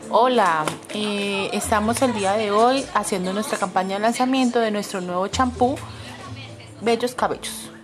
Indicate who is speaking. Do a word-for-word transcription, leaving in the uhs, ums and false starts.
Speaker 1: Hola, eh, estamos el día de hoy haciendo nuestra campaña de lanzamiento de nuestro nuevo champú Bellos Cabellos.